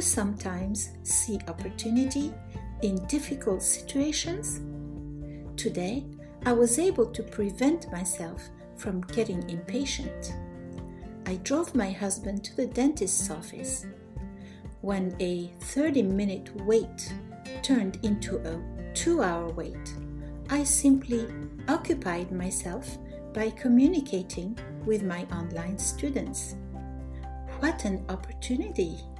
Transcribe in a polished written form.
sometimes see opportunity in difficult situations? Today, I was able to prevent myself from getting impatient. I drove my husband to the dentist's office. When a 30-minute wait turned into a 2-hour wait, I simply occupied myself by communicating with my online students. What an opportunity!